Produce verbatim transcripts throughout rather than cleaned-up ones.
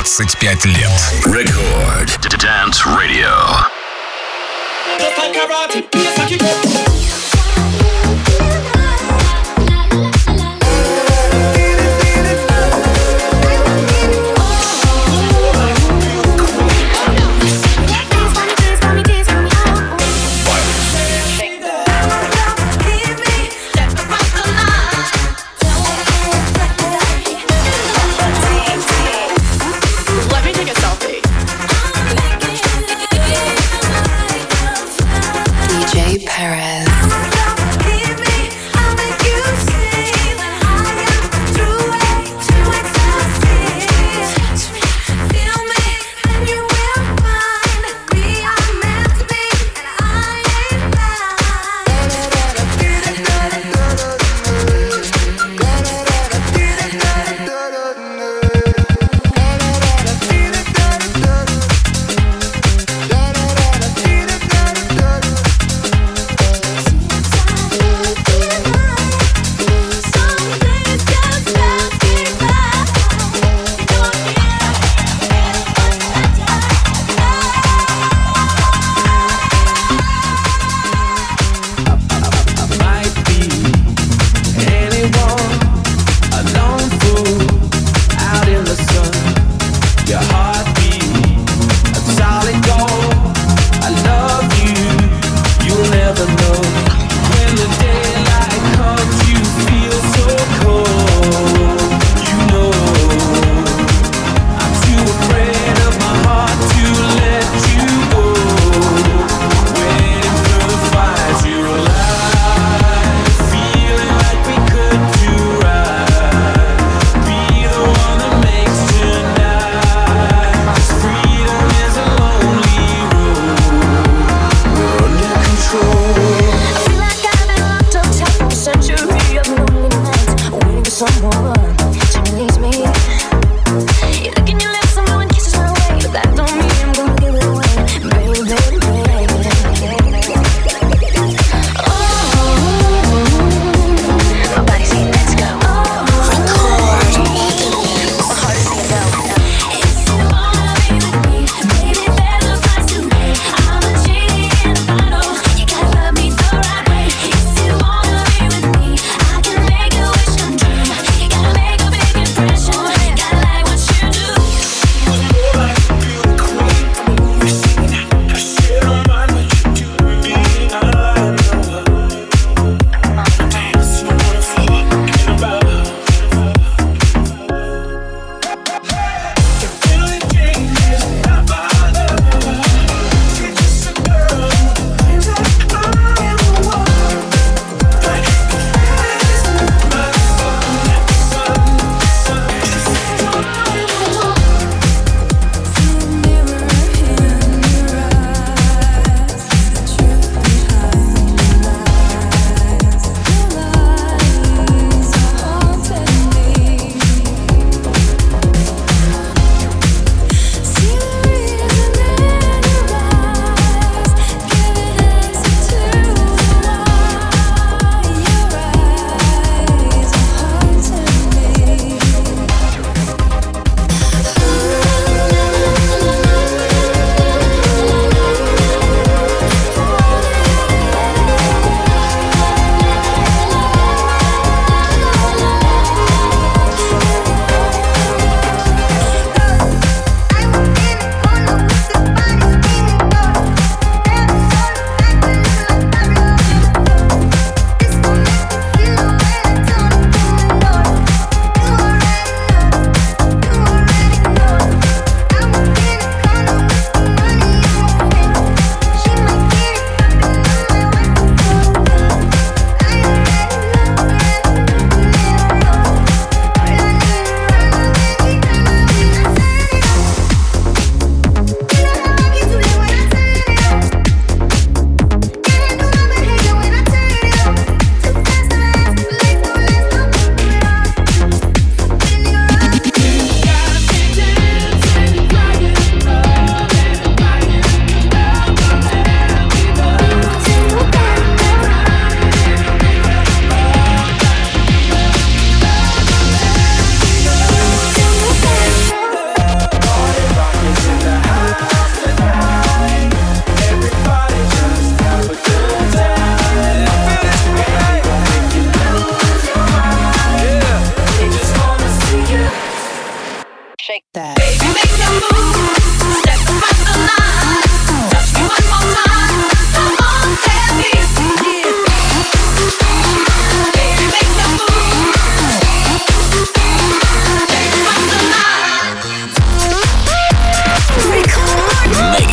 двадцать пять лет. Record Dance Radio. Just like karate, just like you. Perez.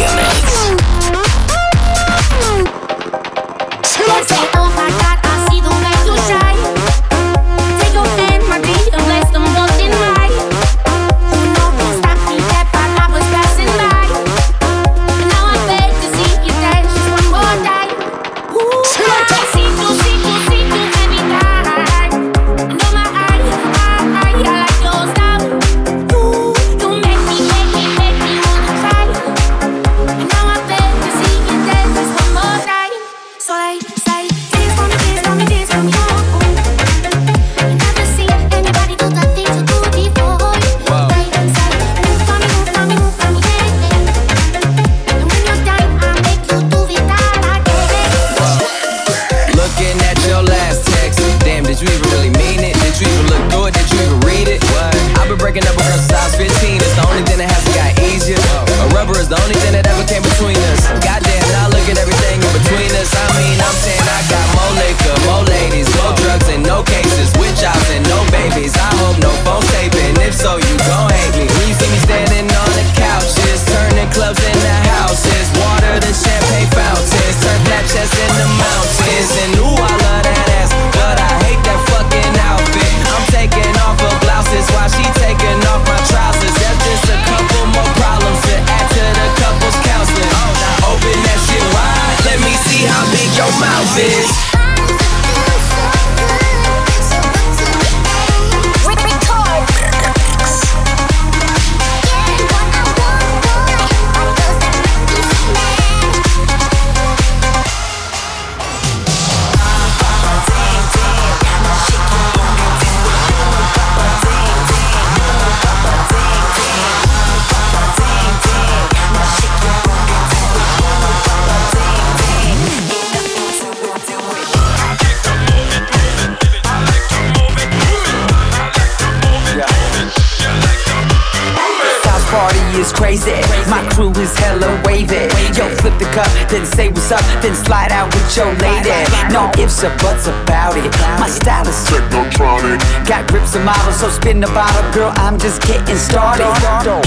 Then say what's up, then slide out with your lady. No ifs or buts about it. My style is technotronic. Got grips and models, so spin the bottle, girl. I'm just getting started. Get up, get up,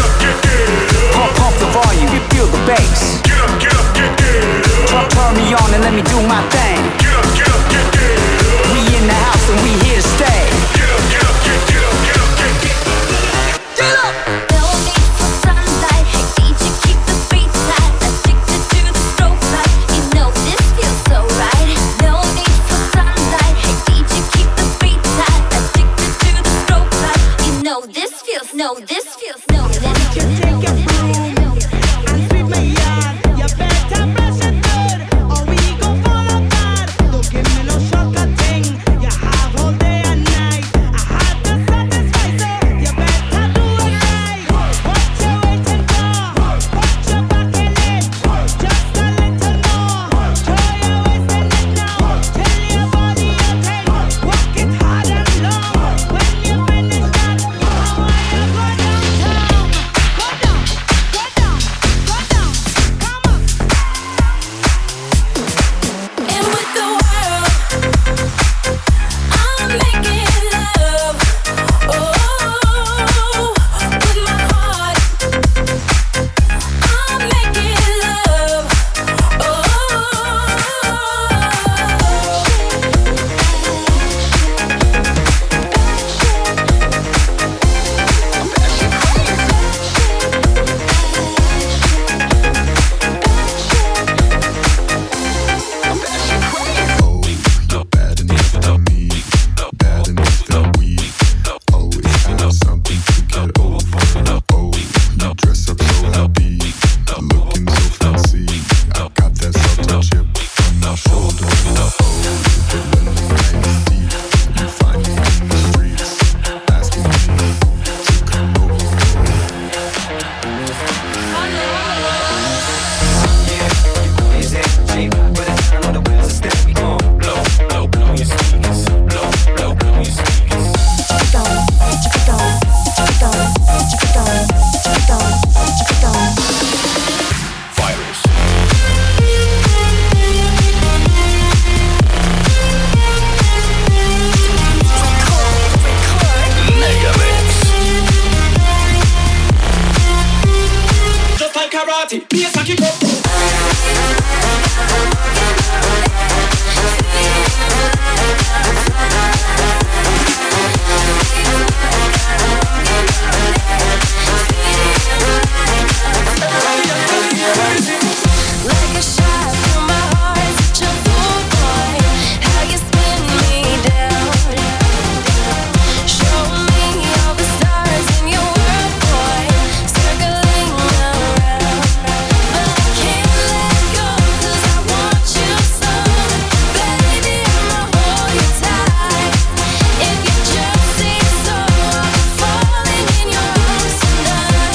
get pump, pump the volume, you feel the bass. Get up, get up, get get turn, turn me on and let me do my thing. Get up, get up, get get we in the house and we here to stay. Get up, get up, get get up, get up, get get get up. No need for sunlight. Hey, D J, keep the beat tight. Addicted to the strobe light. You know this feels so right. No need for sunlight. Hey, D J, keep the beat tight. Addicted to the strobe light. You know this feels, no, this feels, no, this feels, no, this feels. party, bass and kick up. Like a shot through my heart, such a fool boy. How you spin me down. Show me all the stars in your world, boy, circling around. But I can't let go 'cause I want you so. Baby, I'ma hold you tight. If you just say so, I'll be falling in your arms tonight.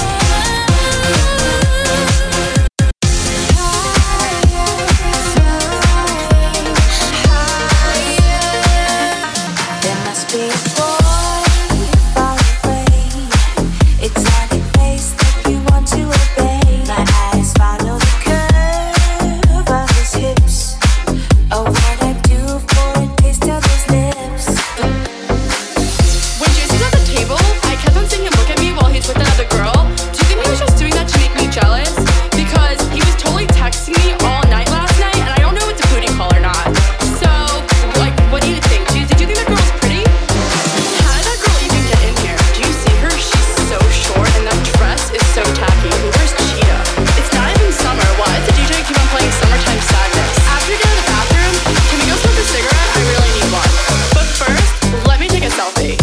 There must be a boy far away, exotic face that you want to obey. My eyes follow the curve of his hips. Oh, what I do for a taste of his lips. When Jason's at the table, I kept on seeing him look at me while he's with another girl. Do you think he was just doing that to make me jealous? Because he was totally texting me all night last night, and I don't know if it's a booty call or not. So, like, what do you think? Do you, did you think that girl was pretty? How did that girl even get in here? Do you see her? She's so short, and that dress is so tacky. Who wears cheetah? It's not even summer. Why does the D J keep on playing Summertime Sadness? After we get out of the bathroom, can we go smoke a cigarette? I really need one. But first, let me take a selfie.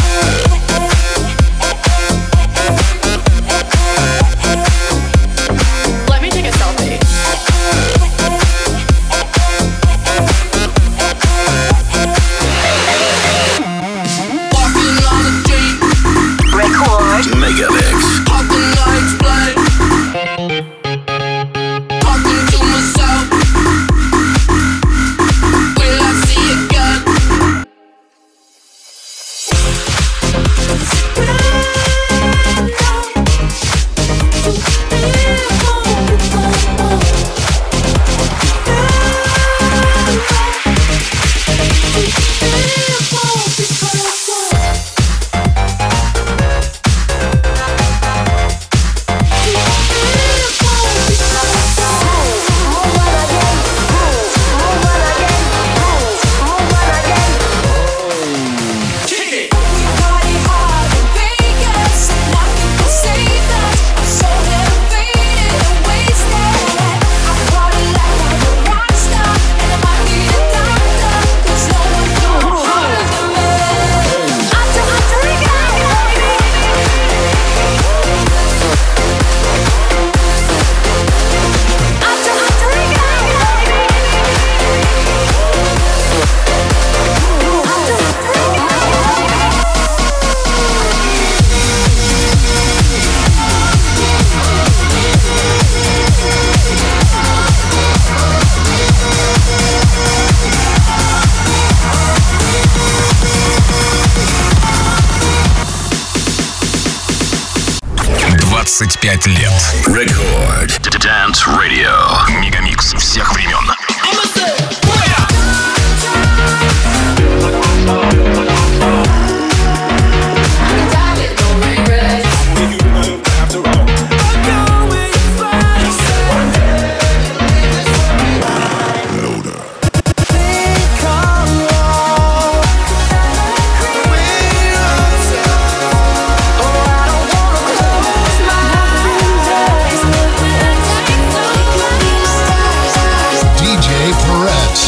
Let me take a selfie. Walking on the street, Megabix. popping lights blind. Talking to myself, will I see again? Kick it. Party hard in Vegas, nothing can save us. I'm so elevated and wasted. I party like I'm a rock star, and I might need a doctor, 'cause no one goes harder than me. I drink, I drink it, baby. I drink, I drink it, baby. двадцать пять лет. Record. Dance Radio. Мегамикс всех времен. I'ma say, fire! ди джей Perez.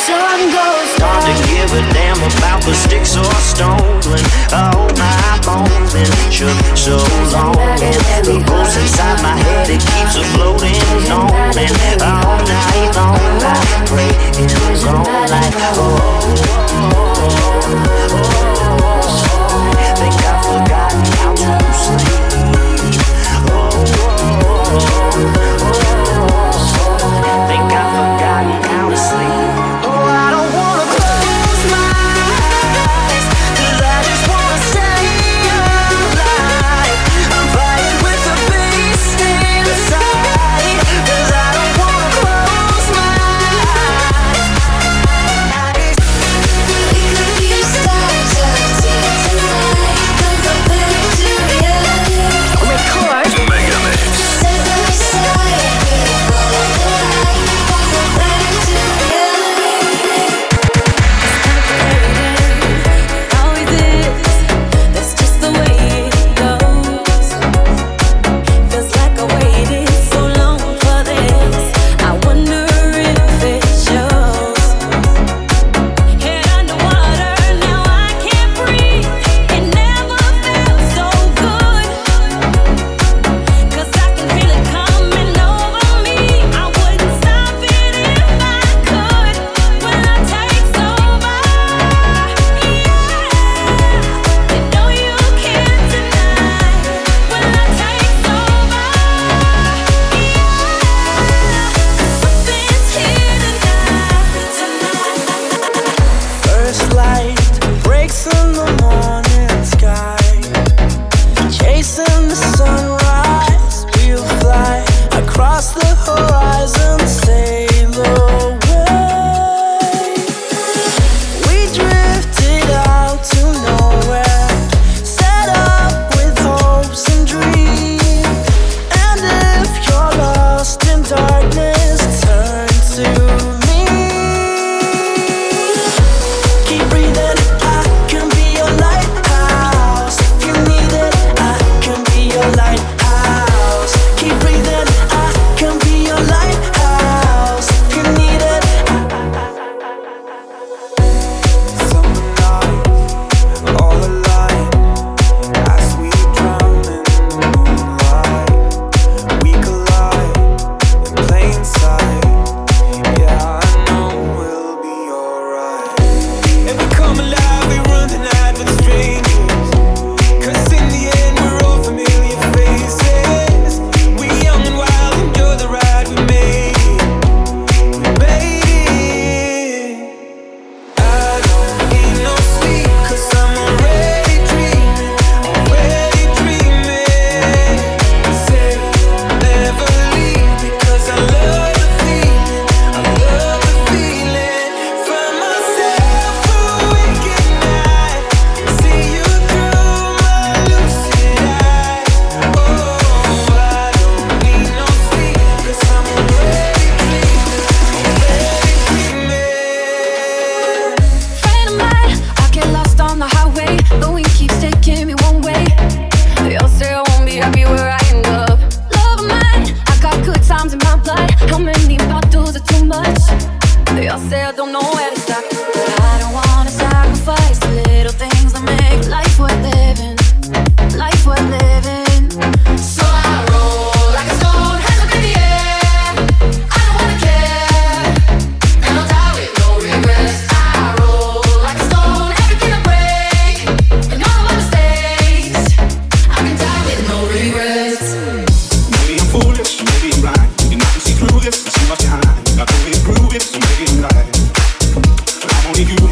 sun goes down. Start to give a damn about the sticks or stones when all my bones been shook so long. And the ghost inside my head, it keeps a floating on. And all night long I pray in his own light. Oh, oh, oh, oh, think I've forgotten how to sleep. Oh, oh, oh, oh, think I've forgotten how to sleep. Oh, I don't wanna close my eyes, 'cause I just wanna stay alive. I'm fighting with the beast inside, 'cause I don't wanna close my eyes. We could be stars out tonight. Don't go back to reality. Record. Megamix. Side by side, we follow the light. Don't go back to reality. Always is. That's just the way it goes. Feels like I waited so long for this. I wonder if it shows. Head underwater, now I can't breathe. It never felt so good. 'Cause I can feel it coming over me. I wouldn't stop it if I could. When I take over, yeah. You know you can't deny. When I take over, yeah. Something's here tonight. First light breaks in the morning sky, chasing the sunrise. We'll fly across the horizon, sail away. We drifted out to nowhere, set up with hopes and dreams. And if you're lost in darkness, turn to me. Keep breathing, I can be your lighthouse. If you need it, I can be your lighthouse. Keep breathing, I can be your lighthouse. If you need it, summer night, all alive, as we drown in the moonlight. We collide in plain sight. Yeah, I know we'll be alright. And we come alive, we run the night with strangers. 'Cause in the end, we're all familiar faces. We young and wild, enjoy the ride we made it. We made it. I don't need no sleep, 'cause I'm already dreaming, already dreaming. Say never leave, because I love the feeling, I love the feeling. Find myself awake at night, see you through my lucid eyes. Oh, I don't need no sleep, 'cause I'm already dreaming, already dreaming. Friend of mine, I get lost on the highway. The wind keeps taking me one way. They all say I won't be happy where I end up. Love of mine, I got good times in my blood. How many bottles are too much? They all say I don't know where to stop, but I don't wanna sacrifice the little things that make life worth living. Life worth living. So I roll like a stone, hands up in the air. I don't wanna care, and I'll die with no regrets. I roll like a stone, everything I break, and all of my mistakes. I can die with no regrets. Maybe I'm foolish, maybe I'm blind. You can see through this and see what's behind. I can really prove it, so maybe I'm right. But I'm only human.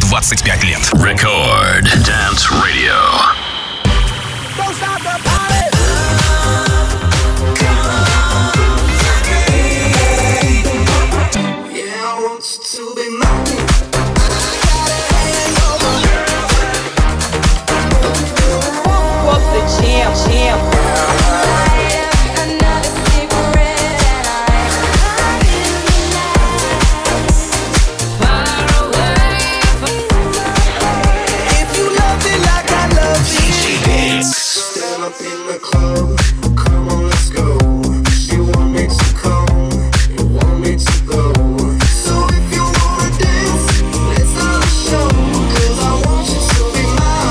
двадцать пять лет. Record Dance Radio. Don't stop the party. Yeah, I want you to be mine. Pump the jam, jam. Up in the club, come on, let's go. You want me to come, you want me to go. So if you wanna dance, let's have a show. Cause I want you to be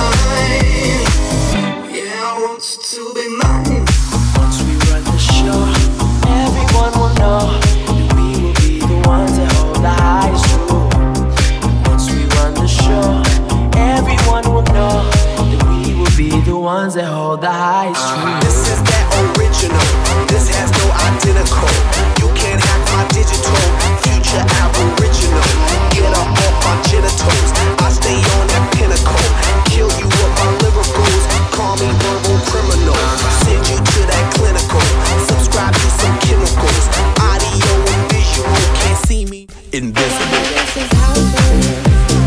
mine. Yeah, I want you to be mine. Once we run the show, everyone will know that we will be the ones that hold the highest rule. Once we run the show, everyone will know that we will be the ones that hold the highest truth. This is that original. This has no identical. You can't hack my digital. Future aboriginal. Get up off my genitals. I stay on that pinnacle. Kill you with my lyricals. Call me verbal criminal. Send you to that clinical. Subscribe to some chemicals. Audio and visual. Can't see me. Invisible. This is how it is.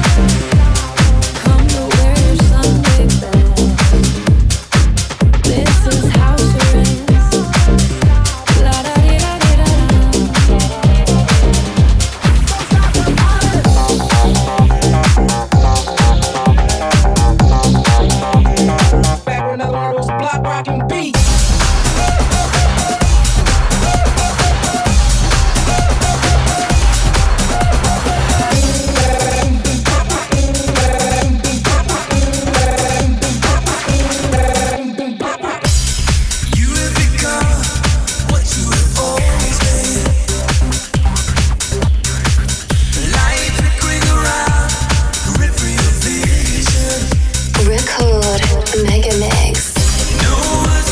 Come to where Sunday bed. This is how it is. La da di da di da Back when another one of those block rockin' beats. Record Mega Mix. No one's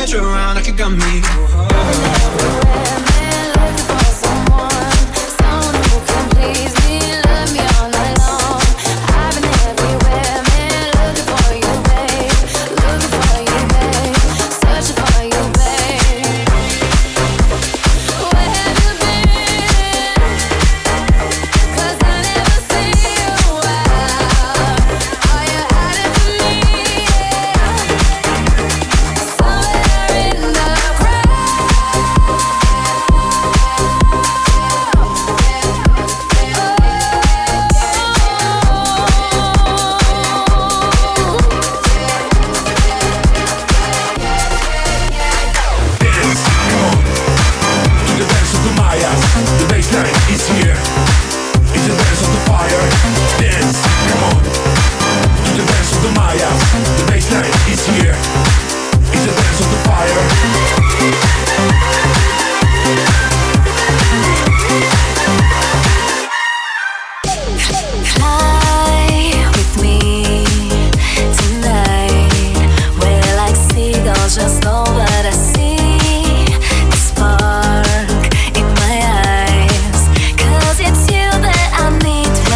that you're around like you got me.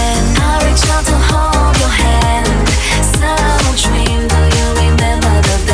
Dream, do you remember the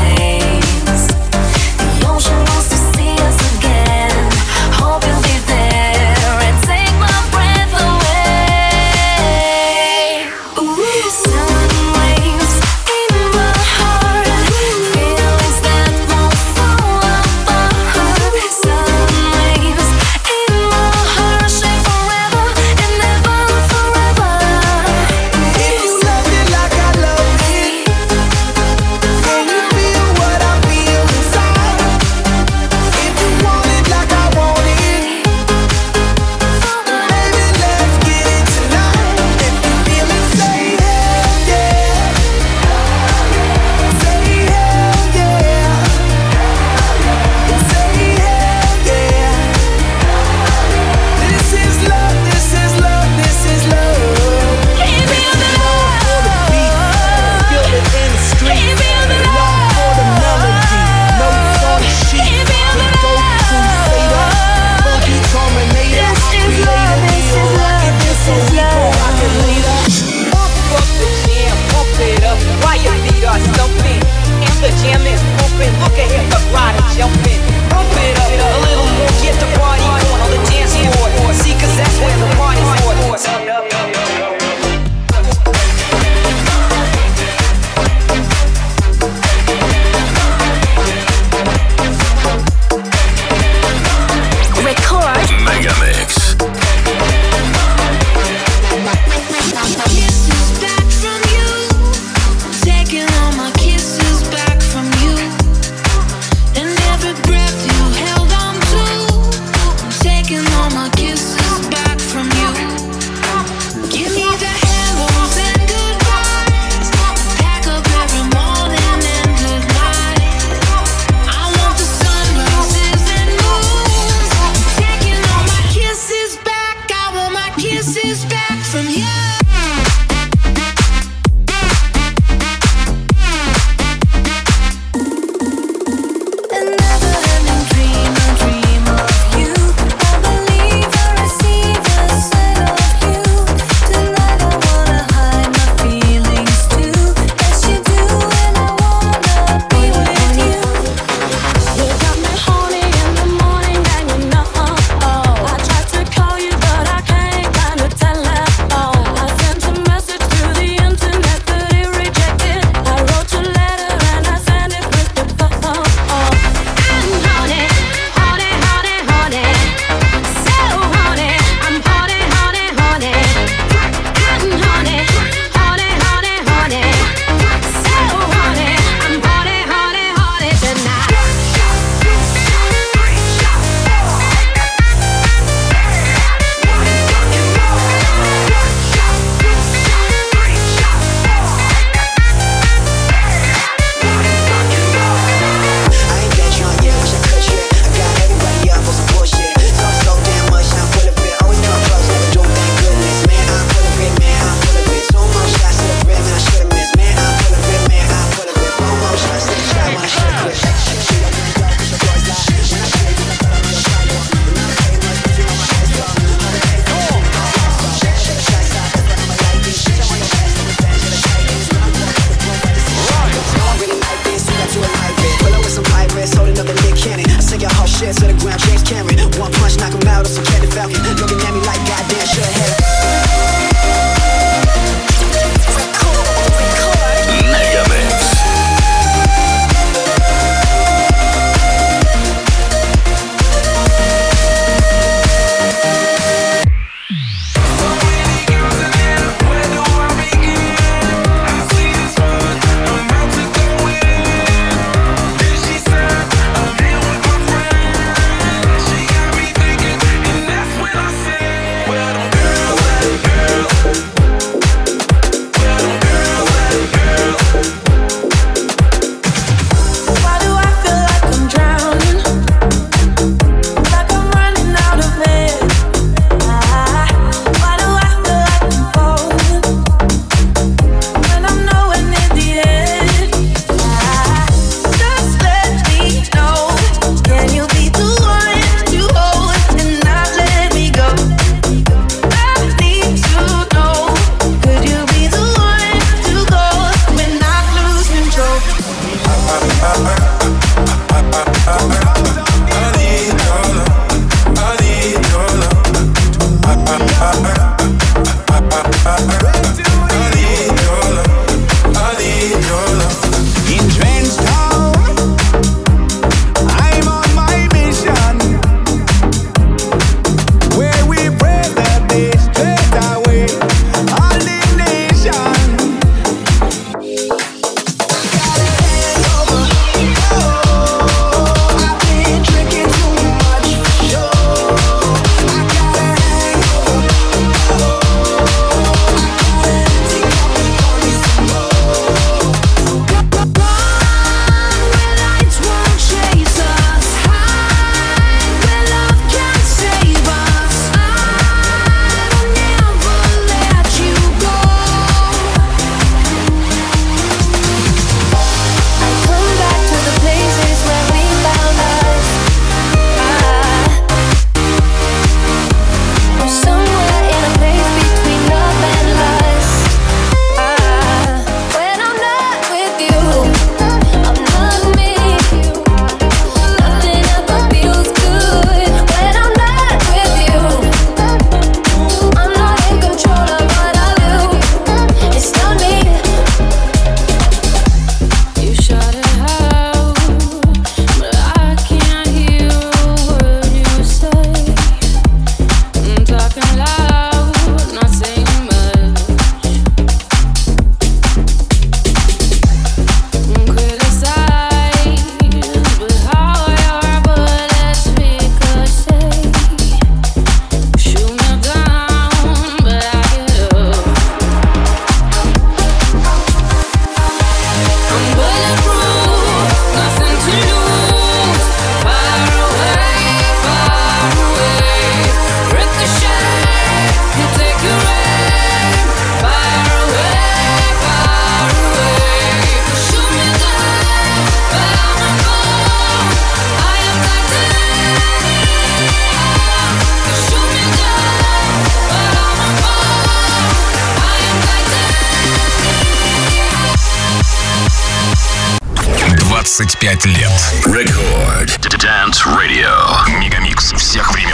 двадцать пять лет. Record Dance Radio. Мегамикс всех времен.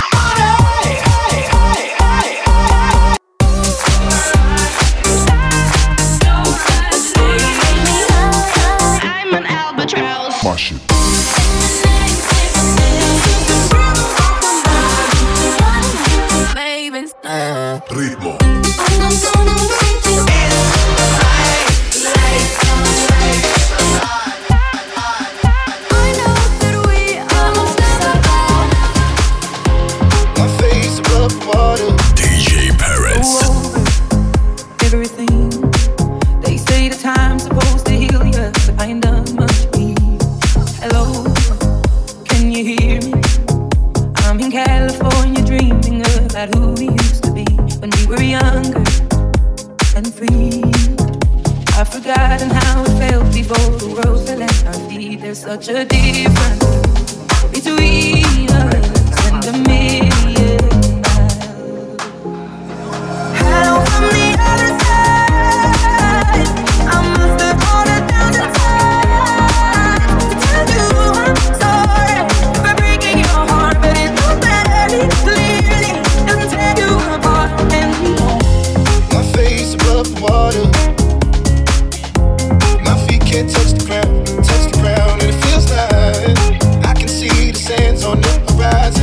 Ritmo. ди джей Paris. Everything they say, the time's supposed to heal you, but I ain't done much healing. Hello, can you hear me? I'm in California dreaming about who we used to be when we were younger and free. I've forgotten how it felt before the world fell at our feet. There's such a difference between us and a million miles. Hello from the other side. I must have fallen down the time to tell you I'm sorry for breaking your heart, but it don't matter. Clearly doesn't tear you apart anymore. My face above the water, my feet can't touch the ground, touch the ground, and it feels like I can see the sands on the horizon.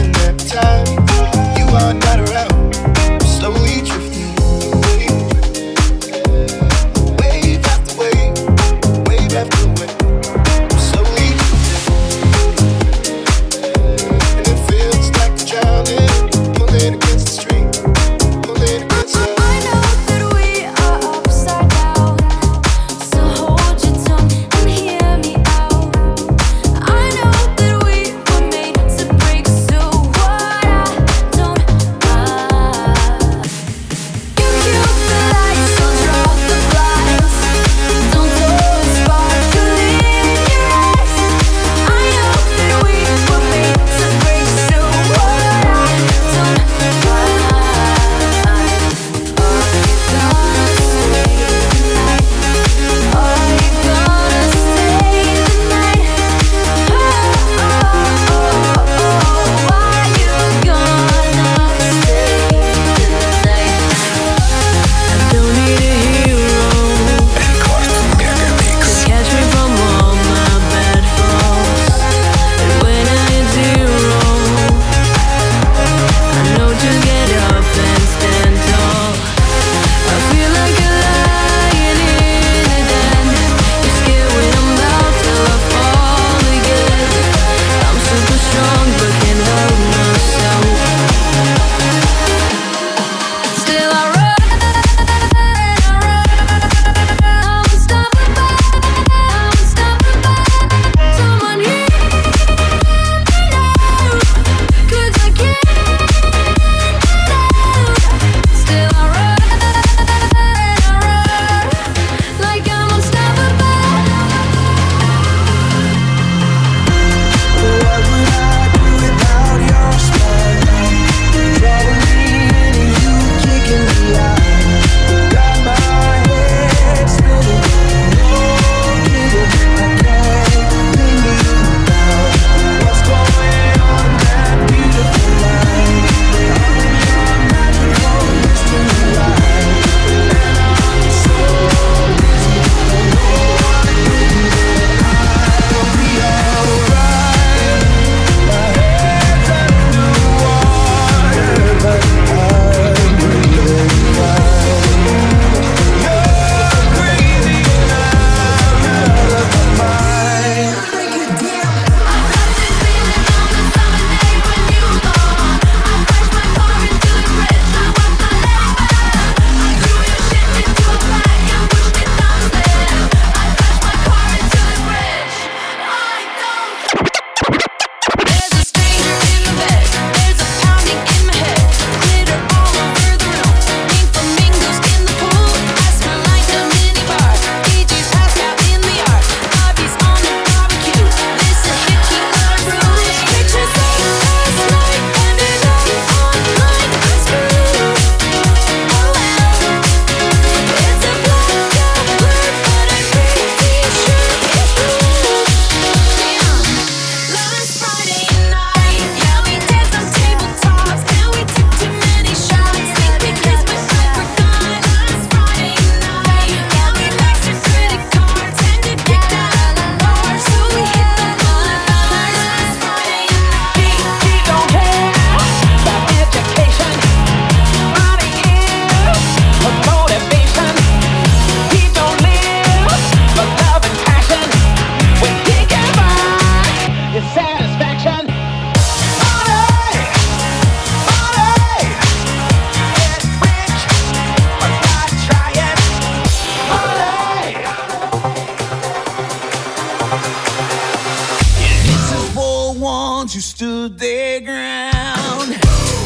ones who stood their ground.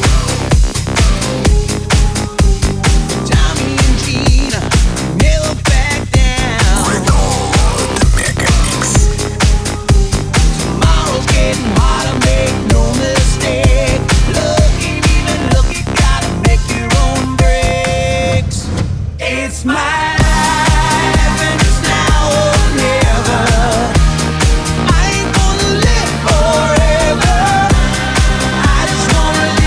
Tommy and Gina never back down. Tomorrow's getting harder, make no mistake. Look ain't even look, you gotta make your own breaks. It's my life and it's now or never. I ain't gonna live forever. I just wanna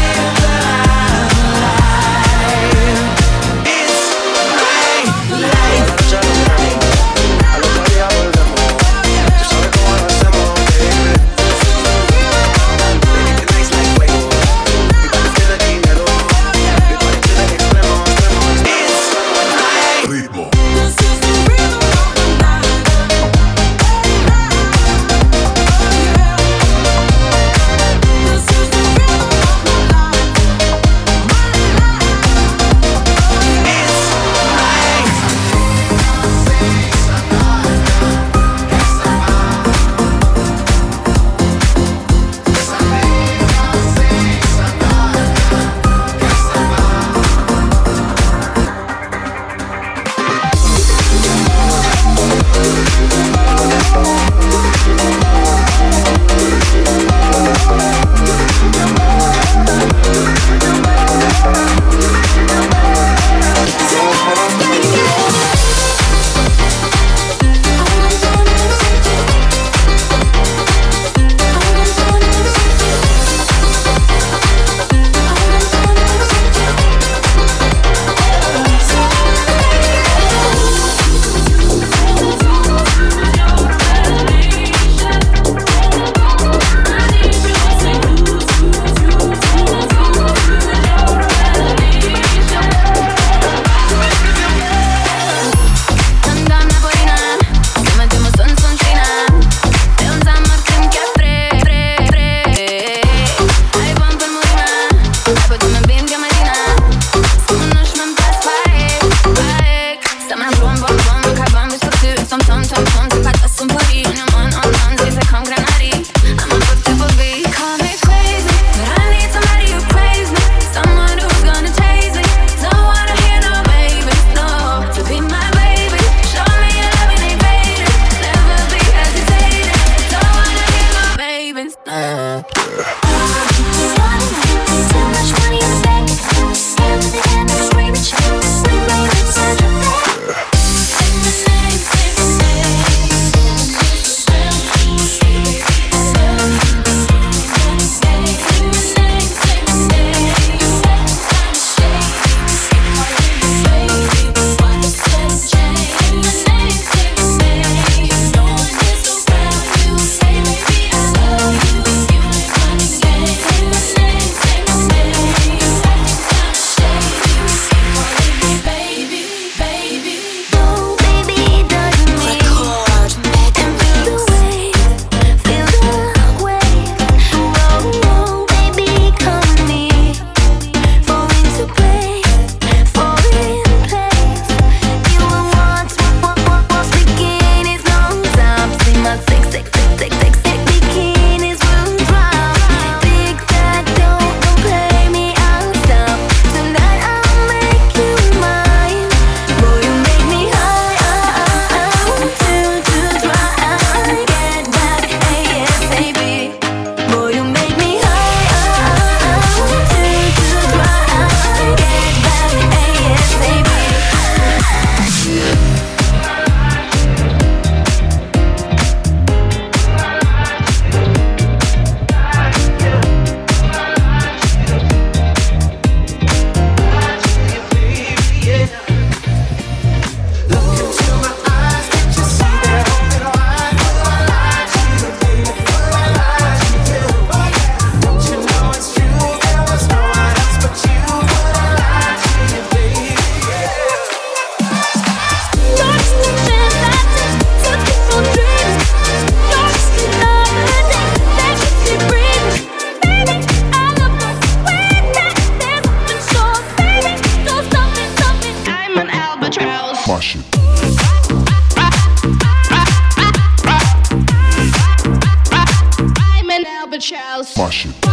albatross. Mash it.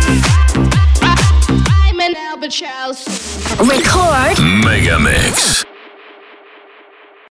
I'm an albatross. Record Megamix.